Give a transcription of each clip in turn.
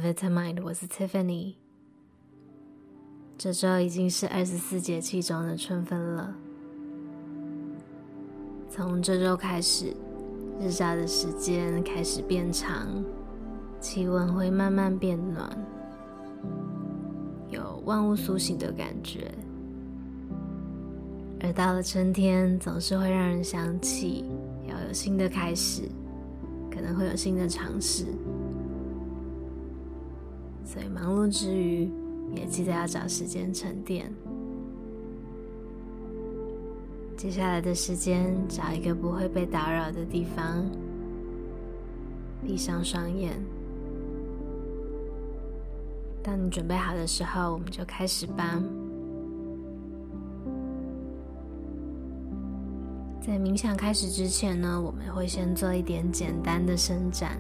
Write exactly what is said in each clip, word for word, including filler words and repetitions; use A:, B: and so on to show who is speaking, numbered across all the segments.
A: Vitamind， 我是 Tiffany。這週已經是二十四節氣中的春分了。從這週開始，日照的時間開始變長，氣溫會慢慢變暖，有萬物甦醒的感覺。而到了春天，總是會讓人想起要有新的開始，可能會有新的嘗試。所以忙碌之餘，也記得要找時間沉澱。接下來的時間，找一個不會被打擾的地方，閉上雙眼。當你準備好的時候，我們就開始吧。在冥想開始之前呢，我們會先做一點簡單的伸展。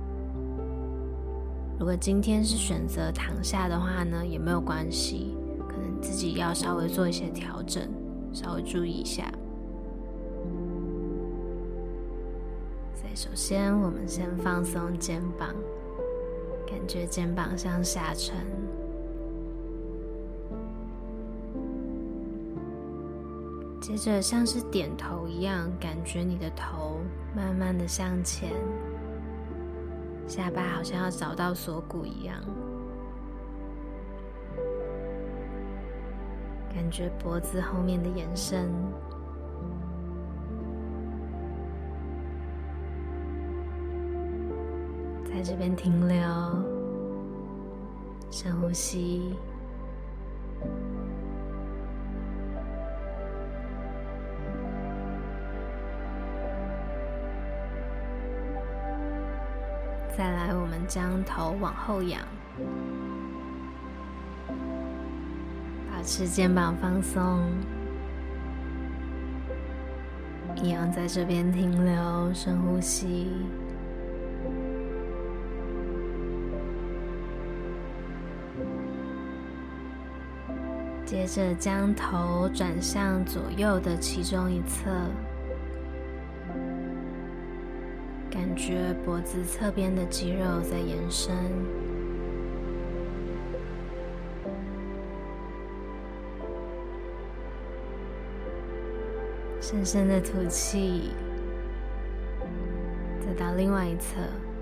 A: 如果今天是選擇躺下的話呢，也沒有關係，可能自己要稍微做一些調整，稍微注意一下。所以首先我們先放鬆肩膀，感覺肩膀向下沉。接着像是點頭一樣，感覺你的頭慢慢的向前，下巴好像要找到鎖骨一樣，感覺脖子後面的延伸。在這邊停留，深呼吸。再來，我們將頭往後仰，保持肩膀放鬆，一樣在這邊停留，深呼吸。接着將頭轉向左右的其中一側，感覺脖子側邊的肌肉在延伸，深深的吐氣，再到另外一側。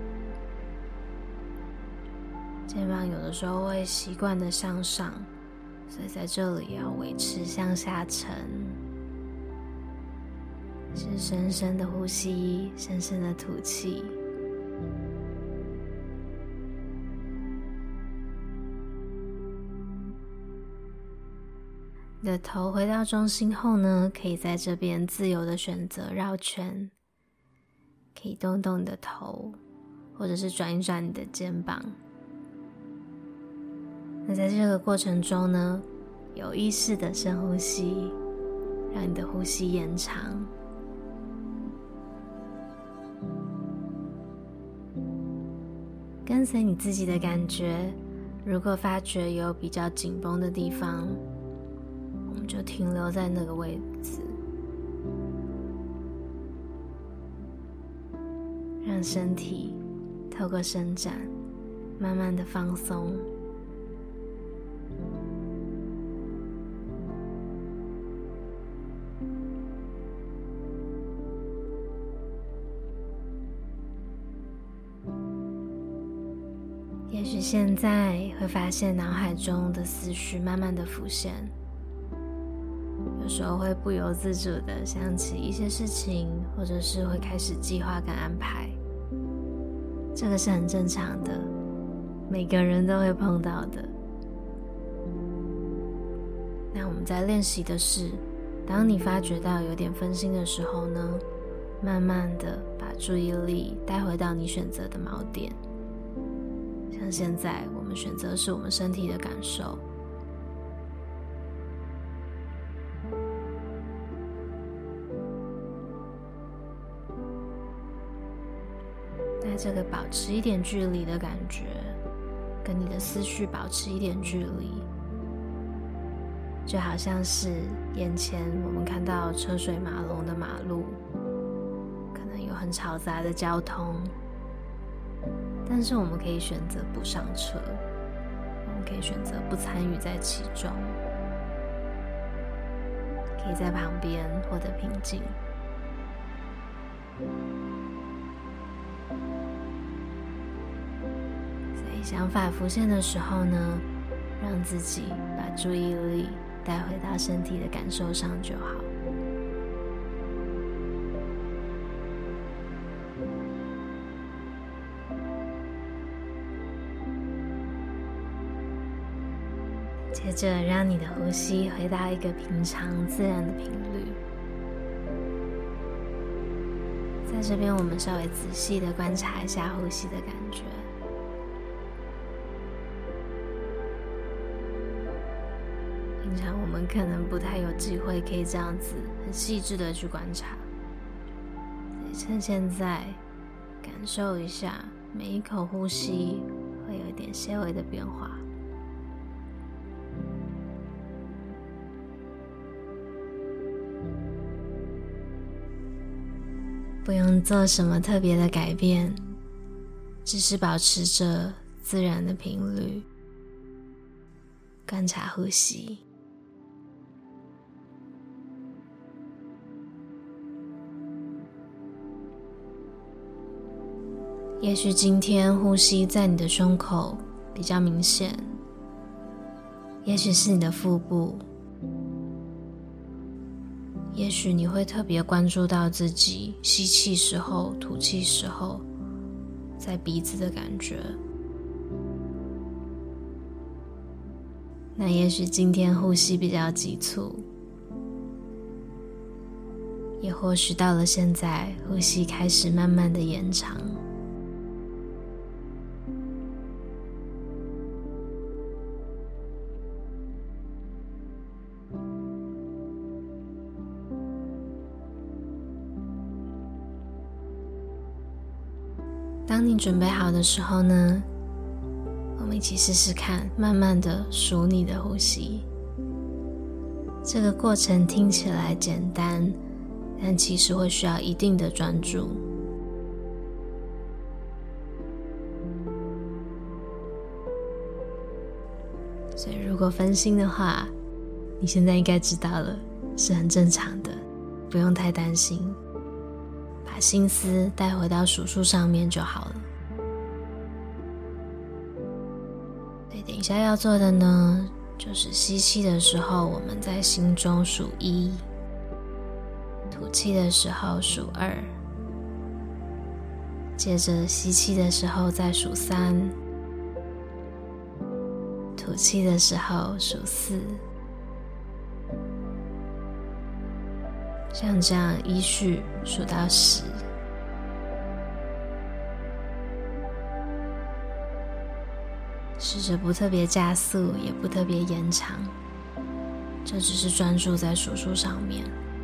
A: 肩膀有的時候會習慣的向上，所以在這裡要維持向下沉。是深深的呼吸，深深的吐氣。你的頭回到中心後呢，可以在這邊自由的選擇繞圈，可以動動你的頭，或者是轉一轉你的肩膀。那在這個過程中呢，有意識的深呼吸，讓你的呼吸延長。跟隨你自己的感覺，如果發覺有比較緊繃的地方，我們就停留在那個位置，讓身體透過伸展，慢慢的放鬆。也許現在會發現腦海中的思緒慢慢的浮現，有時候會不由自主的想起一些事情，或者是會開始計劃跟安排。這個是很正常的，每個人都會碰到的。那我們在練習的是，當你發覺到有點分心的時候呢，慢慢的把注意力帶回到你選擇的錨點。像現在我們選擇的是我們身體的感受，那這個保持一點距離的感覺，跟你的思緒保持一點距離，就好像是眼前我們看到車水馬龍的馬路，可能有很嘈雜的交通， 但是我們可以選擇不上車，我們可以選擇不參與在其中，可以在旁邊獲得平靜。在想法浮現的時候呢，讓自己把注意力帶回到身體的感受上就好。接着，讓你的呼吸回到一個平常自然的頻率。在這邊，我們稍微仔細的觀察一下呼吸的感覺。平常我們可能不太有機會可以這樣子很細緻的去觀察，所以趁現在感受一下每一口呼吸會有一點些微的變化。不用做什麼特別的改變，只是保持着自然的頻率，觀察呼吸。也許今天呼吸在你的胸口比較明顯，也許是你的腹部，也許你會特別關注到自己吸氣時候、吐氣時候在鼻子的感覺。那也許今天呼吸比較急促，也或許到了現在，呼吸開始慢慢的延長。当你準備好的時候呢，我們一起試試看，慢慢的數你的呼吸。這個過程聽起來簡單，但其實會需要一定的專注。所以如果分心的話，你現在應該知道了，是很正常的，不用太擔心。把心思帶回到數數上面就好了。對，等一下要做的呢，就是吸氣的時候，我們在心中數一；吐氣的時候數二；接着吸氣的時候再數三；吐氣的時候數四。像這樣依序數到十，試着不特別加速，也不特別延長，這只是專注在數數上面。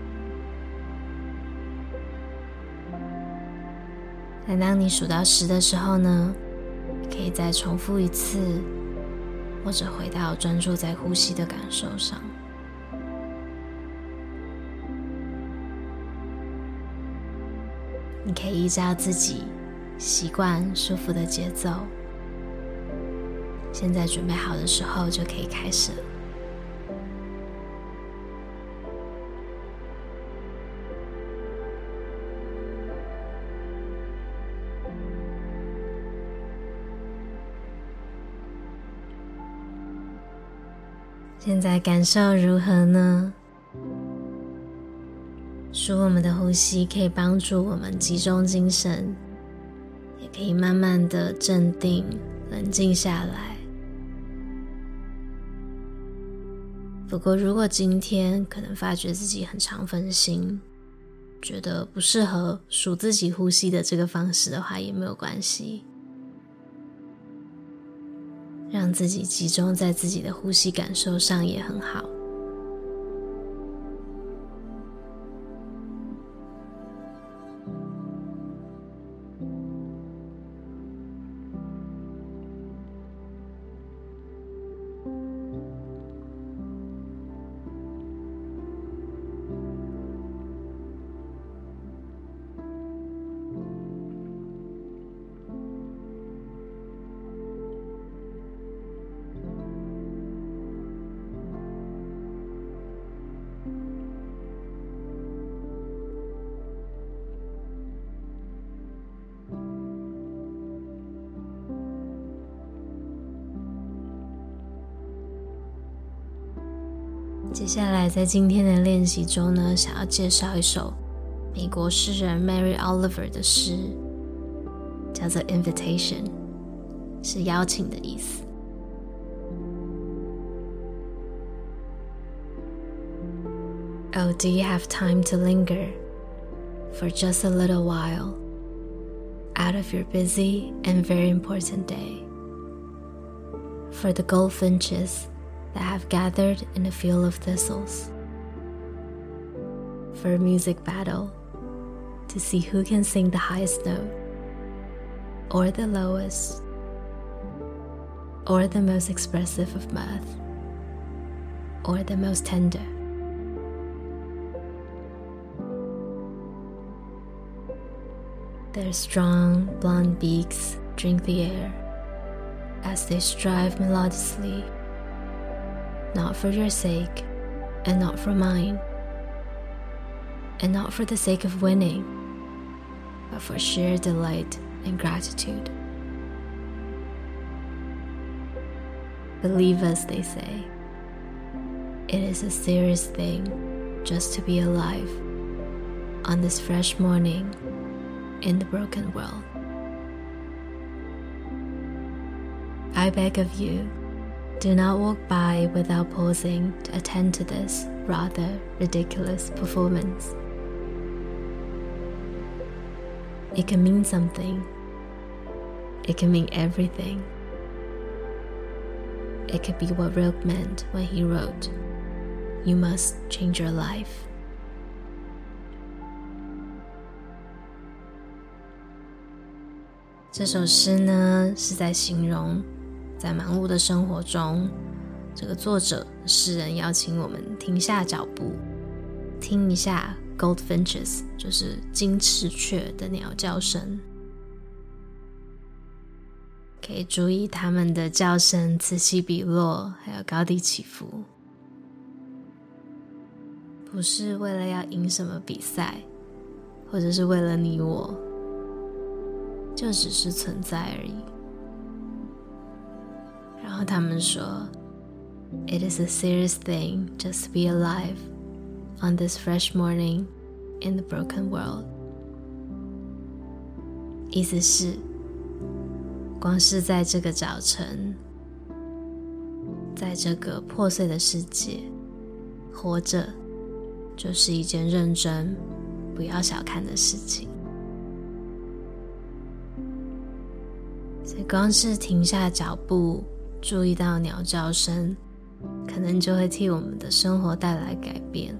A: 但當你數到十的時候呢，可以再重複一次，或者回到專注在呼吸的感受上。你可以依照自己習慣舒服的節奏，現在準備好的時候就可以開始了。現在感受如何呢？數我們的呼吸可以幫助我們集中精神，也可以慢慢的鎮定、冷靜下來。不過，如果今天可能發覺自己很常分心，覺得不適合數自己呼吸的這個方式的話，也沒有關係。讓自己集中在自己的呼吸感受上也很好。 接下來在今天的練習中呢，想要介紹一首美國詩人 Mary Oliver 的詩，叫做 Invitation， 是邀請的意思。Oh, do you have time to linger for just a little while out of your busy and very important day? For the goldfinches that have gathered in a field of thistles, for a music battle to see who can sing the highest note, or the lowest, or the most expressive of mirth, or the most tender. Their strong blonde beaks drink the air as they strive melodiously, not for your sake and not for mine, and not for the sake of winning, but for sheer delight and gratitude. Believe us, they say. It is a serious thing just to be alive on this fresh morning in the broken world. I beg of you, do not walk by without pausing to attend to this rather ridiculous performance. It can mean something. It can mean everything. It could be what Rilke meant when he wrote, "You must change your life." 這首詩呢，是在形容在忙碌的生活中，這個作者詩人邀請我們停下腳步，聽一下 goldfinches， 就是金翅雀的鳥叫聲，可以注意它們的叫聲此起彼落，還有高低起伏，不是為了要贏什麼比賽，或者是為了你我，就只是存在而已。然後他們說 It is a serious thing just to be alive on this fresh morning in the broken world. 意思是光是在這個早晨，在這個破碎的世界活着，就是一件認真不要小看的事情。所以光是停下腳步，注意到鳥叫聲，可能就會替我們的生活帶來改變。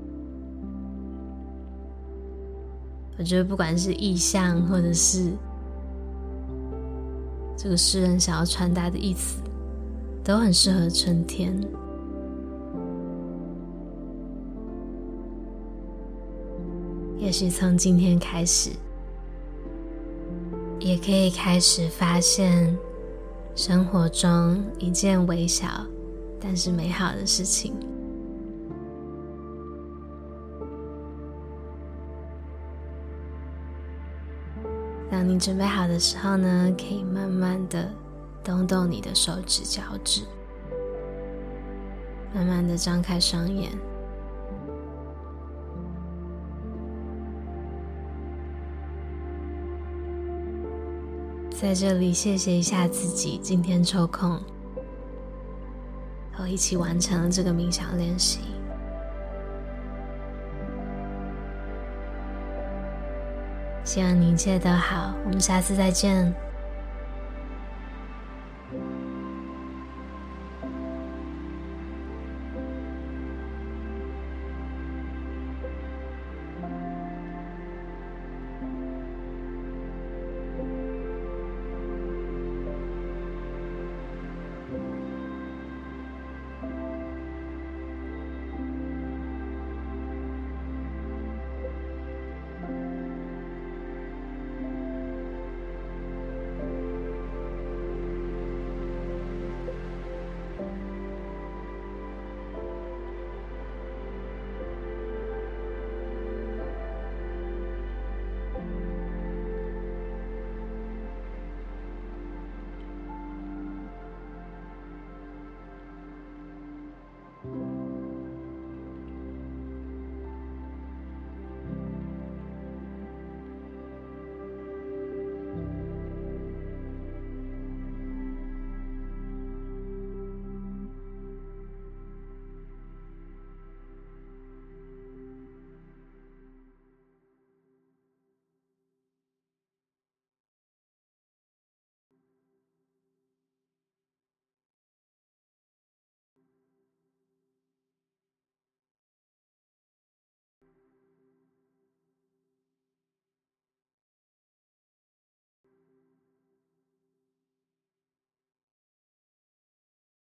A: 我覺得不管是意象，或者是這個詩人想要傳達的意思，都很適合春天。也許從今天開始，也可以開始發現生活中一件微小但是美好的事情。當你準備好的時候呢，可以慢慢的動動你的手指腳趾，慢慢的張開雙眼。在這裡謝謝一下自己今天抽空和我一起完成了這個冥想練習。希望你一切都好，我們下次再見。